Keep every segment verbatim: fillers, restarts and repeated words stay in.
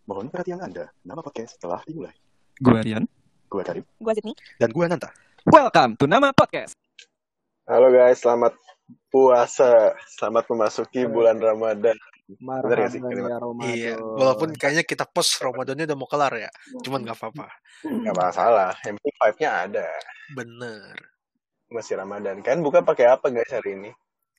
Mohon perhatian Anda, nama podcast telah dimulai. Gue Rian. Gue Karim. Gue Sydney. Dan gue Nanta. Welcome to Nama Podcast. Halo guys, selamat puasa. Selamat memasuki bulan Ramadan. Marhaban ya Ramadan. Iya, walaupun kayaknya kita post Ramadannya udah mau kelar ya. Cuman gak apa-apa. Gak masalah, yang penting vibe-nya ada. Bener. Masih Ramadan. Kan buka pakai apa guys hari ini?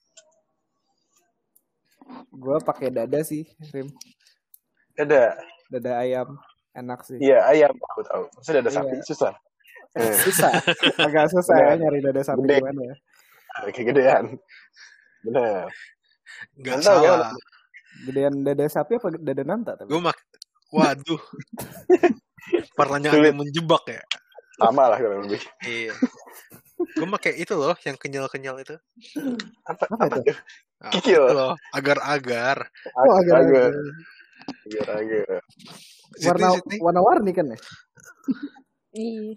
Gue pakai dada sih, Rim. Dada. Dada ayam, enak sih. Iya, ayam. Aku tahu. Maksudnya dada Iya. sapi, susah. Eh, Susah, agak susah ya nyari dada sapi Gede. gimana ya. kegedean. Bener. Gak Nanta, salah. Gedean dada sapi apa dada nanta? Tapi? Gue mak... Waduh. Pertanyaan Sulit. yang menjebak ya. Sama lah kurang lebih. Iya. Gue pakai itu loh, yang kenyal-kenyal itu. Apa, Apa apa itu? tuh? Nah, Kikil. itu loh, agar-agar. Oh, agak Agar. Agar-agar. warna Sydney, Sydney. warna-warni kan ya? Ih.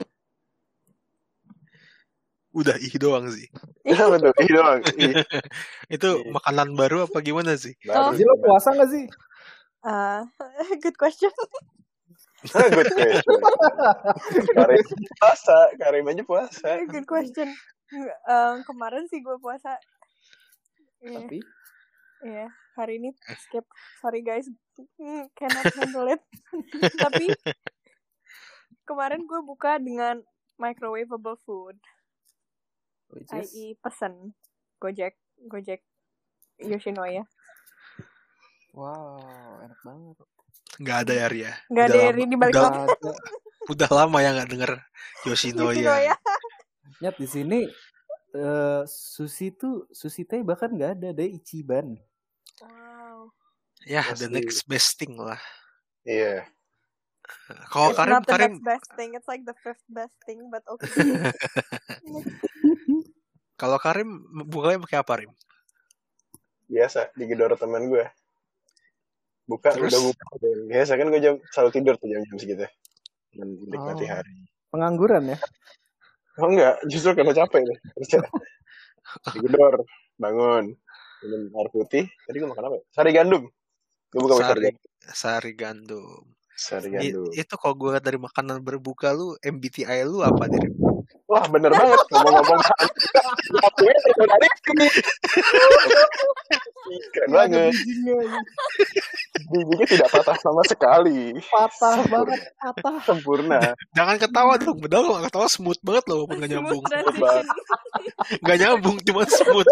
Udah ih doang sih. Apa tuh? Ih doang. Ih. Itu Iya. makanan baru apa gimana sih? Baru. Jadi lo puasa gak sih? Uh, good question. Ah, good question. Karim puasa. Karim aja puasa. Good question. Um, kemarin sih gue puasa. Iya, Tapi iya. Hari ini skip. Sorry guys, Hmm, cannot handle it. Tapi kemarin gue buka dengan microwavable food, which I is E pesen Gojek, Gojek Yoshinoya. wow, enak banget. Gak ada ya Ria. Gak ada Udah Eri lama- di balik udah, lampu. Ada. udah lama ya gak denger Yoshinoya. Yoshinoya. Nyat di sini eh, sushi tuh sushi teh bahkan nggak ada, ada Ichiban. Wow. Ya, the Pasti. next best thing lah. Iya. Kalau It's Karim, not the Karim, next best thing. It's like the fifth best thing, but okay. kalau Karim bukanya pakai apa, Rim? Biasa digedor teman gue. Buka Terus? udah buka. Biasa kan gue jam selalu tidur tuh jam-jam segitu. Menikmati Oh. hari. Pengangguran ya? Oh enggak, justru karena capek nih. Kerja. Digedor, bangun, minum air putih. Tadi gue makan apa ya? Sari gandum. Gue buka pakai sari Sari, gandum. sari gandum. Sari I- gandum. itu kalau gue lihat dari makanan berbuka lu, M B T I lu apa nih? Rim? Wah bener banget ngomong-ngomong. Ngakuin itu dari sini. Keren banget. Bijinya tidak patah sama sekali. Patah banget, patah. Sempurna. Jangan ketawa dong, padahal kalau ketawa smooth banget loh, walaupun gak Smooth nyambung. transition. Gak nyambung, cuma smooth.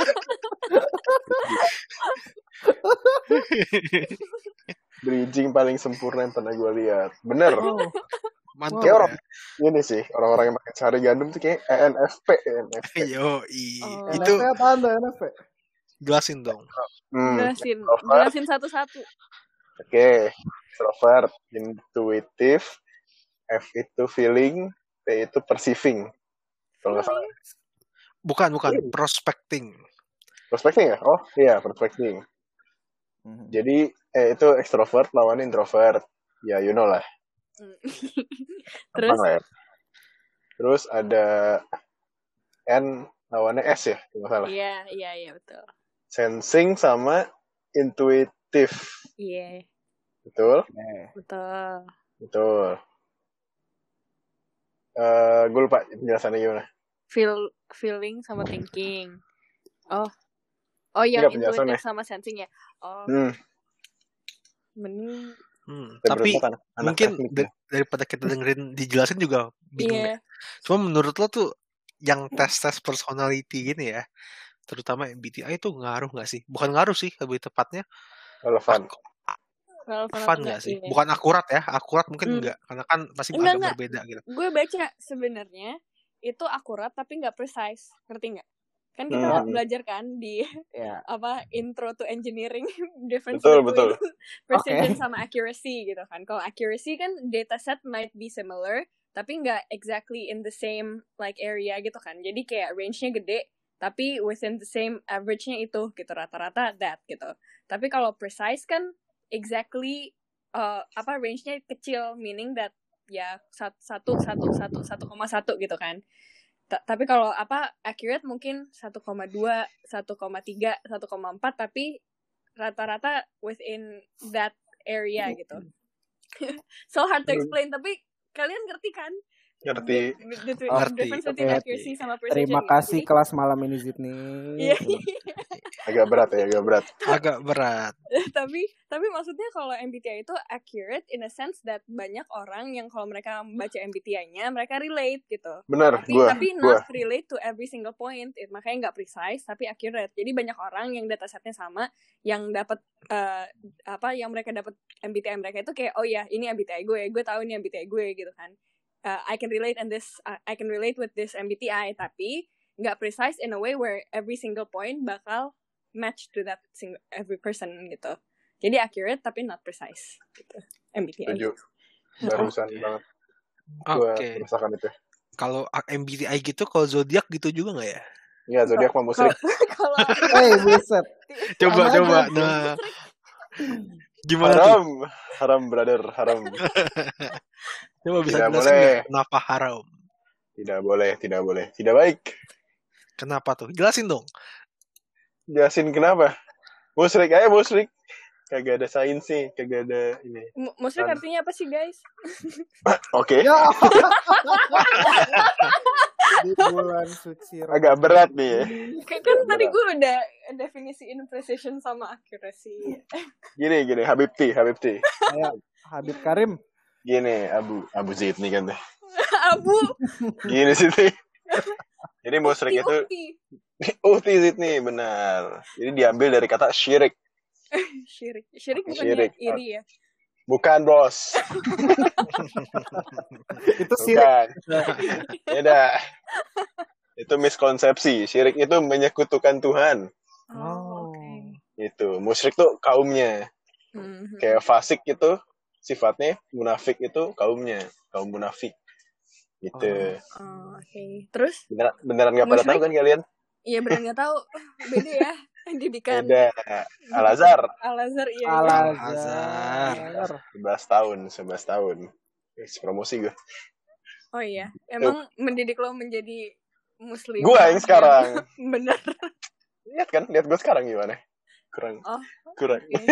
Bridging paling sempurna yang pernah gue lihat. Bener. Oh, Mantap Kayak orang ya. ini sih, orang-orang yang pakai sari gandum tuh kayak E N F P, E N F P. Yo, i. Oh. Itu N F P apaan tuh N F P? jelasin dong. Hmm. Jelasin, Extrovert. jelasin satu-satu. Oke, extrovert, intuitive, F itu feeling, P itu perceiving. Kalau nggak salah, Bukan, bukan. Prospecting. prospecting ya? Oh iya, prospecting. Mhm. Jadi eh, itu extrovert lawan introvert. Ya, you know lah. Hmm. Gampang Terus, lah ya. Terus ada N lawannya S ya, kalau nggak salah. iya, iya, iya betul. Sensing sama intuitive. Iya, Betul? Eh, betul. Betul. Eh, gue lupa penjelasannya gimana. Feel, feeling sama thinking. Oh, oh yang Enggak, penjelasannya. intuitive sama sensing ya. Oh, Hmm, mending. Hmm, kita tapi berempat anak, anak mungkin teknik. da- daripada kita dengerin dijelasin juga bingung Iya. ya. Cuma menurut lo tuh yang tes-tes personality gini ya, terutama M B T I itu ngaruh nggak sih? Bukan ngaruh sih, lebih tepatnya Relevan. ak- Relevan fun apa nggak sih? Iya. Bukan akurat ya, akurat mungkin Hmm. enggak, karena kan pasti Enggak, agak enggak. berbeda gitu. Gue baca sebenarnya itu akurat tapi nggak precise, ngerti nggak? Kan kita Hmm. belajar kan di ya. apa intro to engineering difference Betul, between betul. precision Oke. sama accuracy gitu kan. Kalau accuracy kan dataset might be similar tapi nggak exactly in the same like area gitu kan. Jadi kayak range-nya gede tapi within the same average-nya itu gitu, rata-rata that gitu. Tapi kalau precise kan exactly uh, apa range-nya kecil, meaning that ya sat- satu satu satu satu koma satu gitu kan. Ta- tapi kalau apa accurate mungkin satu koma dua, satu koma tiga, satu koma empat tapi rata-rata within that area gitu. So hard to Hmm. explain, tapi kalian ngerti kan? Ngerti. The, the, the Oh, ngerti. difference between Oke. accuracy sama precision. Terima gitu. kasih Jadi, kelas malam ini Zidni. iya. Agak berat ya, agak berat. Agak berat. tapi tapi maksudnya kalau M B T I itu accurate in a sense that banyak orang yang kalau mereka baca M B T I-nya mereka relate gitu. Bener, Tapi gua, tapi gua. not relate to every single point. It, makanya nggak precise tapi accurate. Jadi banyak orang yang datasetnya sama yang dapat eh, apa yang mereka dapat M B T I mereka itu kayak oh ya ini M B T I gue, gue tahu ini M B T I gue gitu kan. Uh, I can relate and this uh, I can relate with this M B T I tapi nggak precise in a way where every single point bakal match to that single every person gitu. Jadi accurate tapi not precise gitu. M B T I. Setuju. Barusan Oke. banget. Gua Oke. merasakan itu. Kalau M B T I gitu, kalau zodiak gitu juga nggak ya? Iya, zodiak mah musrik. Kalau Hei, buset. Coba Sama coba. aja. Nah, gimana tuh? Haram. Haram, brother. Haram. Coba bisa Tidak jelasin boleh. nggak kenapa haram? Tidak boleh, tidak boleh. Tidak baik. Kenapa tuh? Jelasin dong. Jelasin kenapa? Musrik aja musrik. Kagak ada sains sih, kagak ada ini. mu- musrik Kan. artinya apa sih guys? Oke, Ya. Di bulan suci agak berat nih ya. Kayak kan Agak tadi berat. gue udah definisiin precision sama accuracy. Gini, gini, Habib T, Habib T. Kayak Habib Karim. Gini, Abu, Abu Zaid nih kan deh. Abu, Gini sih T. Jadi musrik ukti, itu, ukti. Uhti Zaid nih, benar. Jadi diambil dari kata syirik. Syirik, syirik bukannya Syirik. iri ya? Bukan, bos. Itu sirik. Bukan. Beda. Itu miskonsepsi. Syirik itu menyekutukan Tuhan. Oh, oke. Itu. Musyrik tuh kaumnya. Mhm. Kayak fasik itu sifatnya, munafik itu kaumnya. Kaum munafik. Gitu. Oh, oke. Terus? Beneran, beneran gak pada Musyrik? tahu kan kalian? Iya benar nggak tahu. Beda ya didikan. Beda. Al-Azhar. Al-Azhar iya. iya. Al-Azhar. sebelas tahun. sebelas tahun. Wis, promosi gue. Oh iya. Emang mendidik lo menjadi muslim. Gua yang sekarang. Bener. Lihat kan? Lihat gue sekarang gimana? Kurang. Oh. Kurang. Oke.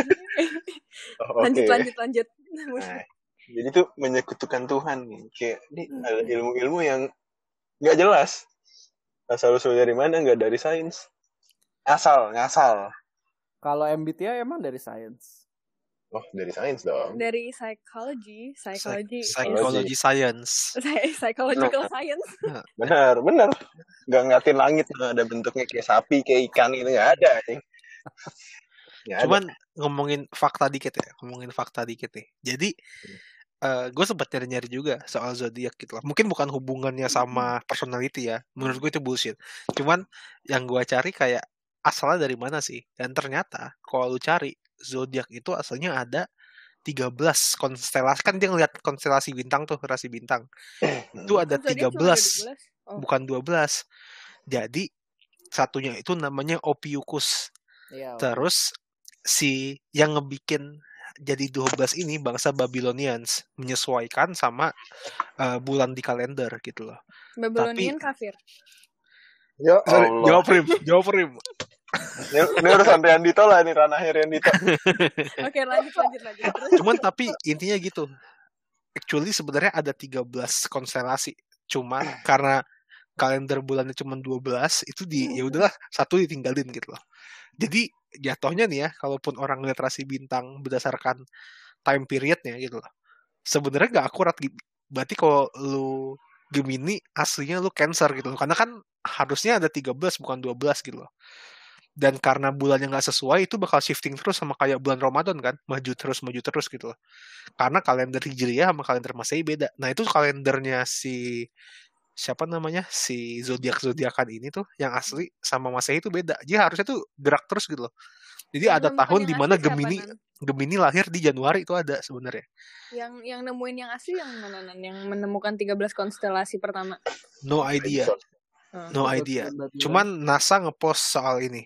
Oh, oke. Lanjut lanjut lanjut. Nah, jadi tuh menyekutukan Tuhan nih. Kayak ini ada ilmu-ilmu yang nggak jelas. Asal usul dari mana? Nggak dari sains. Asal, ngasal. Kalau M B T I emang dari sains. Oh, dari sains dong. Dari psychology, psychology, Psychology science. Psy- psychological science. Benar, benar. Nggak ngeliatin langit nah, ada bentuknya kayak sapi, kayak ikan itu nggak ada. Cing. Nggak ada. Cuman ngomongin fakta dikit ya, ngomongin fakta dikit nih. Jadi eh gue sempat nyari-nyari juga soal zodiak gitu lah. Mungkin bukan hubungannya sama personality ya. Menurut gue itu bullshit. Cuman yang gue cari kayak asalnya dari mana sih? Dan ternyata kalau lu cari zodiak itu asalnya ada tiga belas konstelasi. Kan dia ngeliat konstelasi bintang tuh, rasi bintang. Itu ada Zodiac tiga cuma ada belas, dua belas. Oh. bukan dua belas. Jadi satunya itu namanya Ophiuchus. Iya. Terus si yang ngebikin jadi dua belas ini bangsa Babylonians menyesuaikan sama uh, bulan di kalender gitu loh. Babylonian kafir. Ya Sorry, Allah. jawab Rim, jawab Rim. Ini, ini urusan Riandito lah, ini ranahnya Riandito. Oke, lanjut lanjut lanjut. Terus Cuman tapi intinya gitu. Actually sebenarnya ada tiga belas konstelasi. Cuman karena kalender bulannya cuma dua belas itu di ya udahlah satu ditinggalin gitu loh. Jadi jatuhnya nih ya, kalaupun orang ngeliat rasi bintang berdasarkan time periodnya gitu loh, sebenarnya nggak akurat gitu. Berarti kalau lu Gemini aslinya lu Cancer gitu loh, karena kan harusnya ada tiga belas bukan dua belas gitu loh. Dan karena bulannya nggak sesuai itu bakal shifting terus sama kayak bulan Ramadan kan, maju terus maju terus gitu loh. Karena kalender Hijriyah sama kalender Masehi beda. Nah itu kalendernya si siapa namanya si zodiak zodiakan ini tuh yang asli sama Masehi itu beda. Jadi harusnya tuh gerak terus gitu loh. Jadi yang ada menemukan tahun yang di mana asli siapa, Gemini Nan? Gemini lahir di Januari itu ada sebenarnya. Yang yang nemuin yang asli yang mana Nan? Yang menemukan tiga belas konstelasi pertama. No idea. Hmm. No idea. Cuman NASA ngepost soal ini.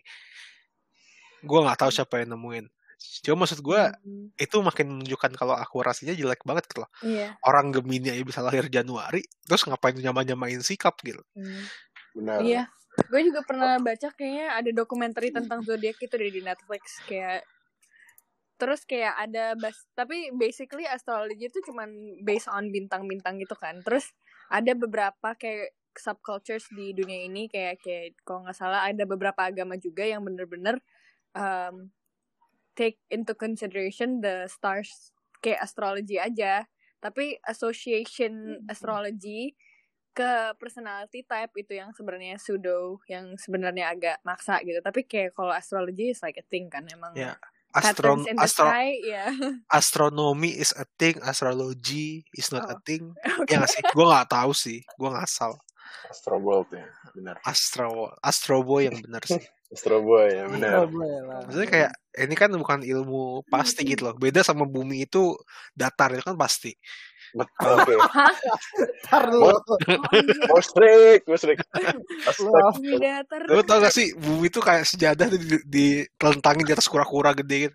Gue nggak tahu siapa yang nemuin. Cuma maksud gue Hmm. itu makin menunjukkan kalau akurasinya jelek banget gitu loh. Iya. Orang Gemini aja bisa lahir Januari, terus ngapain nyama-nyamain sikap gitu. Hmm. Benar. Iya. Gue juga pernah baca kayaknya ada dokumenter tentang zodiak itu deh di Netflix kayak Terus kayak ada bas, tapi basically astrology itu cuman based on bintang-bintang gitu kan. Terus ada beberapa kayak subcultures di dunia ini kayak kayak kalau nggak salah ada beberapa agama juga yang bener-bener um, take into consideration the stars kayak astrology aja. Tapi association astrology ke personality type itu yang sebenarnya pseudo, yang sebenarnya agak maksa gitu. Tapi kayak kalau astrology is like a thing kan emang. Ya, Patterns astron in the astro sky, ya. astronomy is a thing, astrology is not a Oh, thing. oke. Ya nggak sih? Gue nggak tahu sih, gue ngasal. Astro World ya, benar. Astro Astro Boy yang benar sih. Astro Boy ya, Oh, benar. boleh lah. Maksudnya kayak ini kan bukan ilmu pasti gitu loh. Beda sama bumi itu datar itu kan pasti. Betul, oke. Hah? Ntar lu. Mau Oh iya, mau strict, mau strict. Lu Astaga. bumi datar. Lo tau gak sih bumi itu kayak sejadah di, ditelentangin di atas kura-kura gede gitu.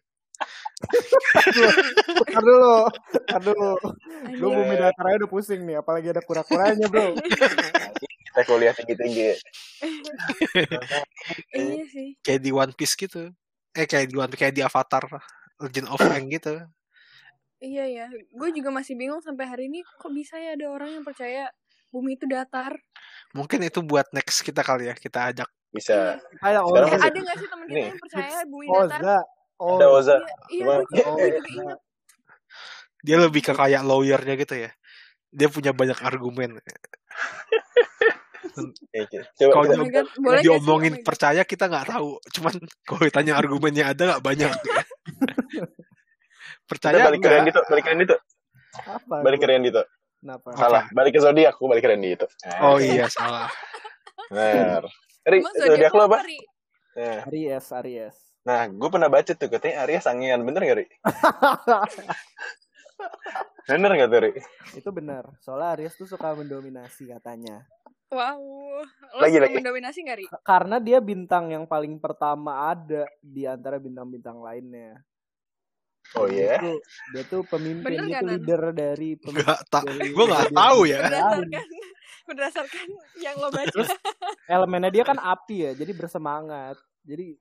Ntar dulu. Ntar dulu. Lu Anjing. bumi datar aja udah pusing nih. Apalagi ada kura-kuranya bro. Kita kuliah tinggi-tinggi. Iya sih. Kayak di One Piece gitu. Eh kayak di One Piece, kayak di Avatar Legend of Aang gitu. Iya ya. Gue juga masih bingung sampai hari ini kok bisa ya ada orang yang percaya bumi itu datar. Mungkin itu buat next kita kali ya. Kita ajak. Bisa. Kayak Sekarang Eh, Oza. masih ada gak sih temen kita nih. yang percaya bumi datar? Oza. Ada Oza. Oza. Iya, iya Cuma gue juga, gue juga Oza. ingat. Dia lebih ke kayak lawyernya gitu ya. Dia punya banyak argumen. Oke, oke. Coba Kalau Oh kita my dia god, boleh gak sih? Oh diomongin my god. percaya kita nggak tahu. Cuman kalau ditanya argumennya ada nggak banyak. kita Percaya balik ke enggak? Randy tuh, balik ke Randy tuh. Apa Balik ke tuh? Randy tuh. Kenapa? Oke. Salah, balik ke zodiak, aku balik ke Randy itu. Oh iya salah. Benar. Ri, Emang zodiak zodiak lo lo apa? apa, Ri? Nah, Aries, Aries. nah gue pernah baca tuh katanya Aries sangean, bener gak Ri? Bener gak tuh Ri? Itu benar. Soalnya Aries tuh suka mendominasi katanya. Wow. Lo Lagi suka lagi. mendominasi gak, Ri? Karena dia bintang yang paling pertama ada di antara bintang-bintang lainnya. Oh Dan dia iya. tuh dia tuh pemimpin, Bener dia gak, tuh Nan? leader dari pem- Enggak tak. dari Gue nggak zodiak tahu ya. bintang lain. Berdasarkan berdasarkan yang lo baca. Terus elemennya dia kan api ya, jadi bersemangat, jadi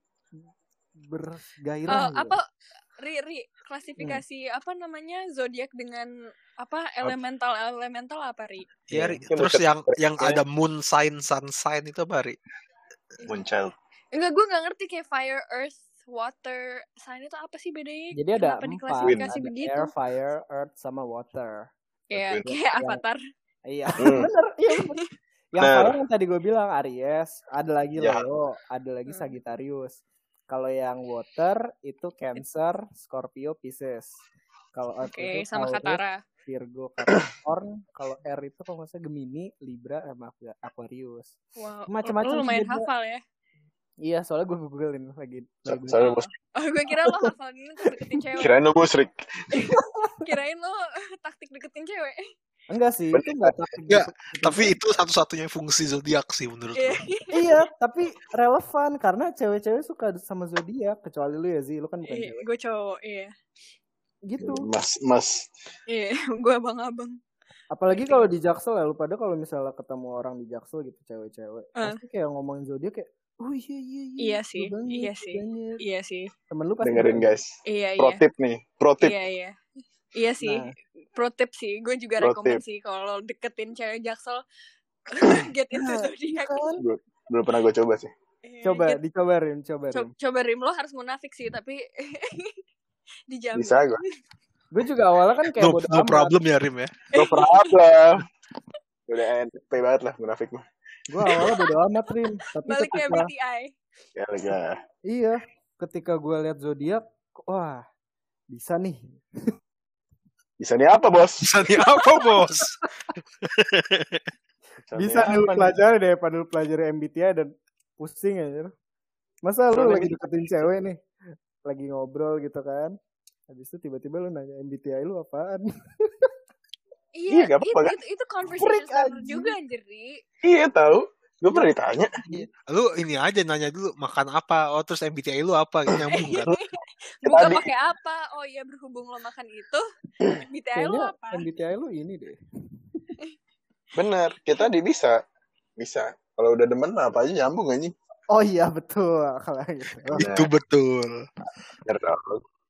bergairah Eh, gitu. apa Ri, Ri, klasifikasi apa namanya zodiak dengan apa elemental elemental apa, Ri? Ya, Iya, Ri. mungkin Terus berkat- yang yang berkatnya ada moon sign, sun sign itu apa, Ri? Moonchild. Enggak, gue nggak ngerti kayak fire, earth, water, sign itu apa sih bedanya? Jadi ada Kenapa empat, diklasifikasi ada begitu? air, fire, earth, sama water. Kayak Betul. kayak Yang avatar. iya, Hmm. bener, iya bener. Yang Bener. fire yang tadi gue bilang Aries, ada lagi Ya. Leo, ada lagi Hmm. Sagittarius. Kalau yang water itu Cancer, Scorpio, Pisces. Kalau earth Oke, itu sama Taurus, Katara. Virgo, Capricorn. Kalau air itu kalau nggak salah Gemini, Libra, sama Aquarius. Wow, Macam-macam lo sih lumayan dia. hafal ya. Iya, soalnya gue googlein lagi. So- lagi Soalnya Oh, bos, oh gue kira lo hafal ini untuk deketin cewek. kirain lo musrik. Kirain lo taktik deketin cewek. Enggak sih, Bener. itu enggak taktik Enggak, gitu. tapi itu satu-satunya fungsi zodiak sih menurut Iya. gue. Iya, tapi relevan karena cewek-cewek suka sama zodiak, kecuali lu ya Zi, lu kan bukan Iya, cewek. gue cowok, iya. Gitu. Mas, mas. Iya, gue abang-abang. Apalagi kalau di Jaksel ya, lu pada kalau misalnya ketemu orang di Jaksel gitu cewek-cewek, Eh. pasti kayak ngomongin zodiak kayak, oh iya iya iya. Iya betul sih, banget, iya betul sih. banget." Iya sih. Temen lu pasti Dengerin bilang, guys. Iya, Pro iya. tip nih, pro tip. Iya, iya. Iya sih. Nah. Pro tip sih. Gue juga Pro rekomen tip. sih kalau deketin cewek Jaksel get into Nah, zodiak. kan? Belum- Belum pernah gue coba sih. Iya, Coba, get- dicoba Rim, coba Rim. co- coba Rim, lo harus munafik sih, tapi dijamin. Bisa gue. Gue juga awalnya kan kayak No, bodo no amat. problem ya Rim ya. Gue problem. Udah N P banget lah munafik mah. Gue awalnya bodo amat Rim, tapi Balik ke ketika M B T I. Ya lega. iya, ketika gue lihat zodiak, wah bisa nih. Bisa nih apa bos? Bisa nih apa, Bos? Bisa nih lu pelajari deh, pada lu pelajari M B T I dan pusing aja. Masa lu Kalau lagi ini- deketin cewek nih, lagi ngobrol gitu kan, habis itu tiba-tiba lu nanya M B T I lu apaan? Iya, Iya, gak itu, apa-apa kan? itu, itu conversation Freak starter anjing. juga anjir, Ri. Iya tahu. Gue pernah ditanya. Lu ini aja nanya dulu makan apa. Oh, terus M B T I lu apa? Nyambung kan? Buka Tadi. pakai apa? Oh iya, berhubung lo makan itu, M B T I lo Kayaknya apa? M B T I lu ini deh. Bener. Kita di bisa. Bisa. Kalau udah demen mah apa aja nyambung anjing. Oh iya betul kalau gitu. Nah, Itu betul. bener dong.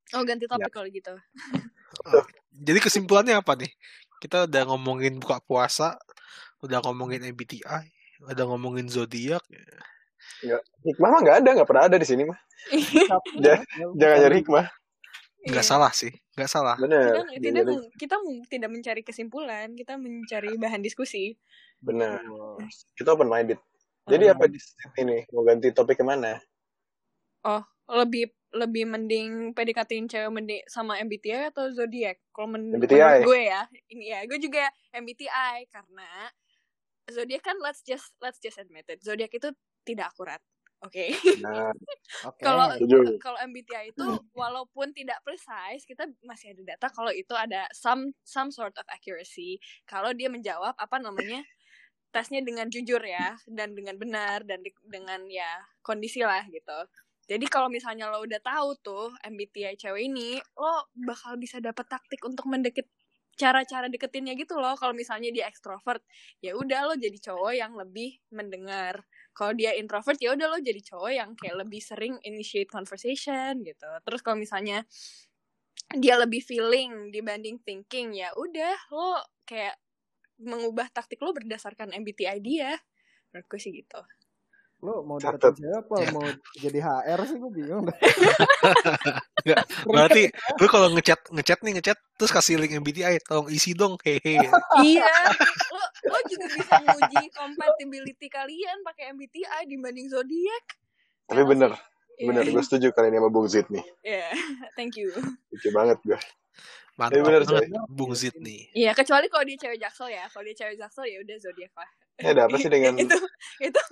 Oh, ganti Ya. topik kalau gitu. Oh, jadi kesimpulannya apa nih? Kita udah ngomongin buka puasa, udah ngomongin M B T I, udah ngomongin zodiak. Nggak, hikmah mah nggak ada, nggak pernah ada di sini mah. Tapi Ja- ya, Jangan nyari hikmah. Nggak Iya. salah sih, nggak salah. Bener. Tidak, Jangan tidak, nyari- meng- kita meng- tidak mencari kesimpulan, kita mencari bahan diskusi. Bener. Betul. Kita open minded. Jadi apa di sini? Mau ganti topik kemana? Oh, lebih lebih mending P D K T-in cewek mending sama M B T I atau zodiak? Kalau men- M B T I. menurut gue ya, ini ya, gue juga M B T I karena zodiak kan let's just let's just admit it, zodiak itu tidak akurat. Oke. Nah, Oke. Kalau setuju. kalau M B T I itu walaupun tidak precise, kita masih ada data kalau itu ada some some sort of accuracy. Kalau dia menjawab apa namanya tesnya dengan jujur ya dan dengan benar dan di- dengan ya kondisi lah gitu. Jadi kalau misalnya lo udah tahu tuh M B T I cewek ini, lo bakal bisa dapat taktik untuk mendeket cara-cara deketinnya gitu loh. Kalau misalnya dia ekstrovert, ya udah lo jadi cowok yang lebih mendengar. Kalau dia introvert, ya udah lo jadi cowok yang kayak lebih sering initiate conversation gitu. Terus kalau misalnya dia lebih feeling dibanding thinking, ya udah lo kayak mengubah taktik lo berdasarkan M B T I dia. Menurut gue sih gitu. Lo mau Catat. deketin cewek apa mau jadi H R sih, gue bingung. Nggak, berarti lu kalau ngechat ngechat nih ngechat terus kasih link M B T I, tolong isi dong, hehe. Iya, lo lo juga bisa nguji compatibility kalian pakai M B T I dibanding zodiak. Tapi bener. Iya. Bener, gue setuju kali ini sama Bung Zid nih. Iya, thank you. Lucu banget gue. Mantap Eh, bener, banget coy. Bung Zid nih. Iya, kecuali kalau dia cewek jaksel ya. Kalau dia cewek jaksel ya udah zodiak lah. Ini ada apa sih dengan itu itu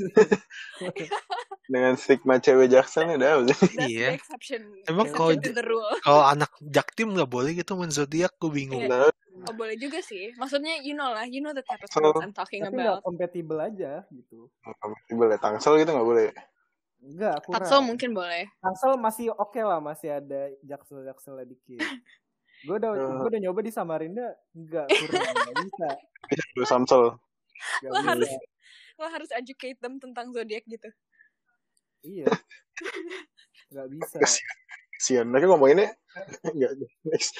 dengan stigma cewek jaksel nih? Ada apa sih? that's Iya. the exception. Emang Exception kalau to the rule. Kalau anak jaktim nggak boleh gitu main zodiak, gue bingung. Iya. Nah, Oh, boleh juga sih. Maksudnya you know lah, you know the type of So, girls I'm talking Tapi nggak about. kompatibel aja gitu. boleh tangsel gitu nggak boleh. Enggak, kurang. Taksel mungkin boleh. Tangsel masih oke lah, masih ada jaksel-jakselnya dikit. Gue udah Uh. gue udah nyoba di Samarinda, enggak, kurang, enggak bisa. Bisa dulu Samsel. Enggak Lo bisa. harus lo harus educate them tentang zodiak gitu. Iya. Enggak bisa. Kasian. Kasian. Mereka ngomonginnya enggak. Next.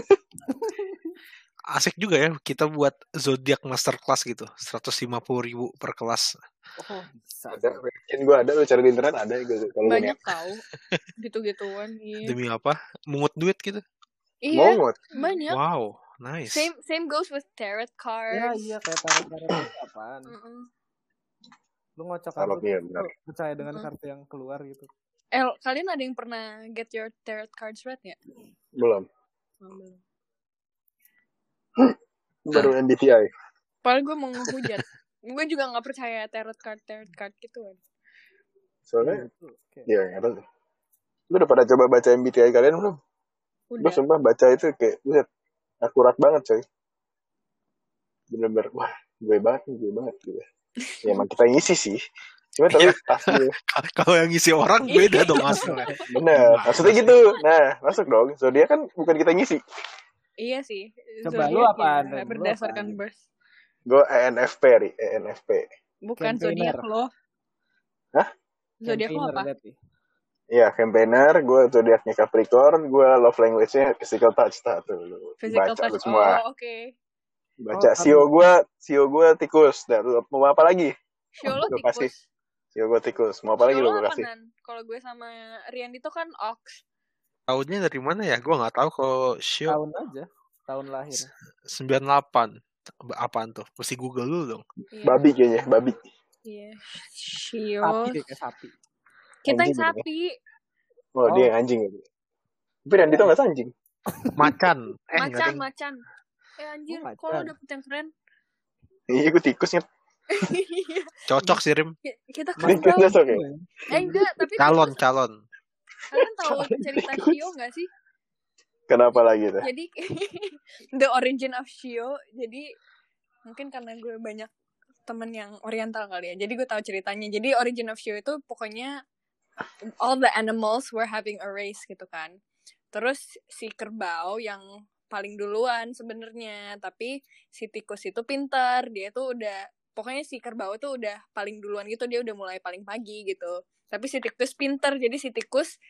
Asik juga ya kita buat zodiak masterclass gitu, seratus lima puluh ribu per kelas. Oh, bisa. Ada, yakin gue ada, lu cari di internet ada gitu. Kalau gue Banyak niat. tahu gitu-gituan. Iya. Demi apa? Mungut duit gitu. Iya, Mongot. banyak. Wow, nice. Same same goes with tarot Ya, cards. iya, kayak tarot-tarot itu apaan? Mm-mm. Lu ngocok Tarot, kartu, iya, terus benar. lu percaya dengan Mm-mm. kartu yang keluar gitu. Eh, kalian ada yang pernah get your tarot cards read nggak? Belum. Oh, belum. Baru M B T I. Padahal gue mau ngehujat. Gue juga nggak percaya tarot card tarot card gitu kan. Soalnya, Gitu. Kayak, ya nggak tahu. Lu udah pada coba baca M B T I kalian belum? Gue Udah. sumpah baca itu kayak, lihat, akurat banget coy. Bener-bener, wah, gue banget nih, gue banget. Gitu. Ya emang kita ngisi sih. Cuma tapi Iya. pas gue, Kalau yang ngisi orang beda dong hasilnya. bener. Maksudnya gitu. Nah, masuk dong. Zodiak kan bukan kita ngisi. Iya sih. Coba lu Zodiac apaan, ya, Ren? Lu berdasarkan apaan? birth. Gue E N F P, Ri. E N F P. Bukan Campaigner. zodiak lo. Hah? Zodiak lo campaigner apa? berarti. Iya, campaigner. Gue zodiaknya Capricorn. Gue love language-nya physical touch. Nah, tuh. lu Physical Baca lu touch. semua. Oh, oke. Baca. Oh, Sio gue, Sio gue tikus. Nah, lu mau apa lagi? Show lo Lu kasih. tikus. Sio gue tikus. Mau apa lagi Show lu lo gue apa, kasih? Nan? Kalau gue sama Rian itu kan ox. Tahunnya dari mana ya? Gue nggak tahu kalau Shio Tahun aja, tahun lahir. sembilan puluh delapan. Apaan tuh? Mesti Google dulu dong. Iya. Babi kayaknya, babi. Iya. Shio. Sapi kayak sapi. Kita yang Anjing gitu ya. sapi. Oh, dia yang anjing. Tapi Randy tuh nggak anjing. Macan. Eh, nggak Macan, ding. macan. Eh anjir, Oh, kok lo macan. dapet yang keren? Iya, gue tikusnya. Iya. Cocok sih Rim. Ki- Kita Tikus kasih tahu. cocok ya? Eh enggak, tapi Calon, tikus- calon. kalian tahu cerita tikus. Shio nggak sih? Kenapa lagi tuh? Jadi the origin of Shio. Jadi mungkin karena gue banyak temen yang oriental kali ya. Jadi gue tahu ceritanya. Jadi origin of Shio itu pokoknya all the animals were having a race gitu kan. Terus si kerbau yang paling duluan sebenarnya, tapi si tikus itu pintar. Dia tuh udah pokoknya si kerbau tuh udah paling duluan gitu, dia udah mulai paling pagi gitu. Tapi si tikus pintar, jadi si tikus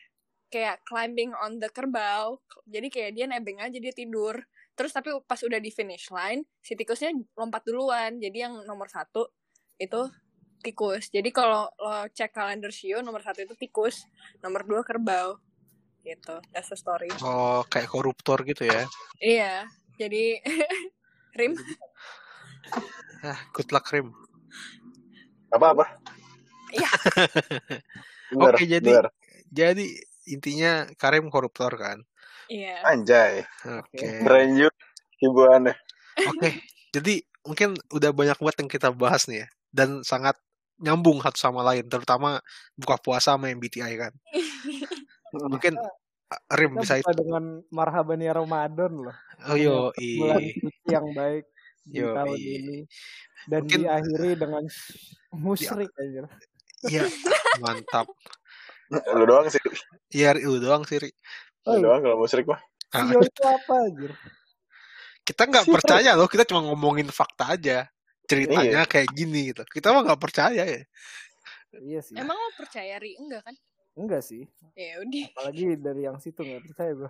kayak climbing on the kerbau. Jadi kayak dia nebeng aja, dia tidur. Terus tapi pas udah di finish line, si tikusnya lompat duluan. Jadi yang nomor satu itu tikus. Jadi kalau lo cek kalender Shio, nomor satu itu tikus, nomor dua kerbau. Gitu, that's the story. Oh, kayak koruptor gitu ya. Iya, jadi Rim. Ah, good luck Rim. Apa-apa. Iya. Bener, Oke, jadi bener. jadi intinya Karim koruptor kan. Iya. Anjay. Oke. Keren juga hiburannya. Oke, jadi mungkin udah banyak banget yang kita bahas nih ya, dan sangat nyambung satu sama lain, terutama buka puasa sama M B T I kan. Mungkin uh, Rim Kita bisa buka itu. dengan marhaban ya Ramadan loh. Oh yo, Bulan i, suci yang baik di yo, tahun i. ini. Dan Mungkin diakhiri dengan musyrik aja. Iya, mantap. Lu doang sih. Iya, lu doang sih, Ri. Lu Oh, doang kalau musyrik mah. Ah, Sio itu apa anjir? kita nggak percaya loh, kita cuma ngomongin fakta aja. Ceritanya Iya. kayak gini gitu. Kita mah nggak percaya ya. Iya sih. Emang lo percaya Ri? Enggak kan? Enggak sih. Ya udah. Apalagi dari yang situ nggak percaya gue.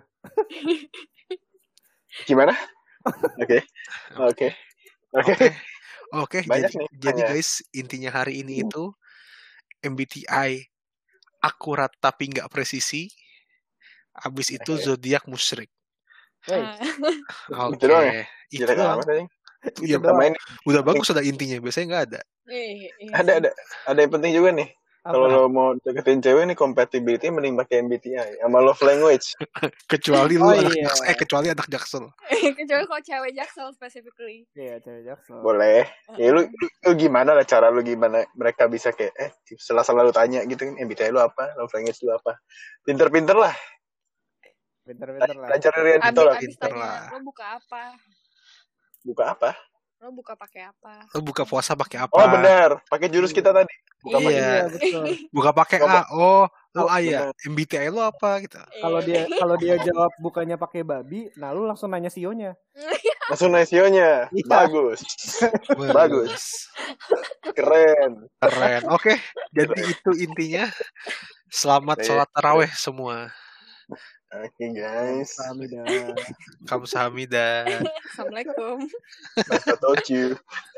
Gimana? Oke. Oke. Oke. Oke, oke. Banyak Jadi, nih jadi pertanyaan. guys, intinya hari ini itu M B T I akurat tapi nggak presisi. Abis itu Oke. zodiak musyrik. Wey, Ah. Oke, Gitu doang ya? itu Jelek doang. amat aja. Ya, doang. Sama ini udah bagus ada intinya. Biasanya nggak ada. Eh, iya ada sih. ada ada yang penting juga nih. Kalau apa? lo mau deketin cewek nih compatibility mending pakai M B T I sama love language. Kecuali lu Oh, anak iya. jaksel. Eh kecuali anak jaksel. Kecuali kalau cewek Jaksel specifically. Iya, cewek jaksel. Boleh. Ya lu, lu, lu gimana lah cara lu gimana mereka bisa kayak eh setelah selalu tanya gitu kan M B T I lu apa, love language lu apa. Pinter-pinter lah. Pinter-pinter lah. Belajar dari Adito Abis, lah. abis pinter tanya, lah. lo buka apa? Buka apa? Lo buka pakai apa? Lu buka puasa pakai apa? Oh benar, pakai jurus kita tadi. Buka Iya. pakai Iya. Iya, betul. Buka pakai Coba. A. Oh, lu Oh, A ya. benar. M B T I lu apa gitu. Kalau Iya. dia kalau dia jawab bukannya pakai babi, nah lu langsung nanya sionya. langsung nasionya. Iya. Bagus. Bagus. Keren. Keren. Oke, jadi itu intinya. Selamat Iya. sholat taraweh semua. Oke guys. Kamsahamnida. Kamsahamnida. Assalamualaikum. Nice to talk to you.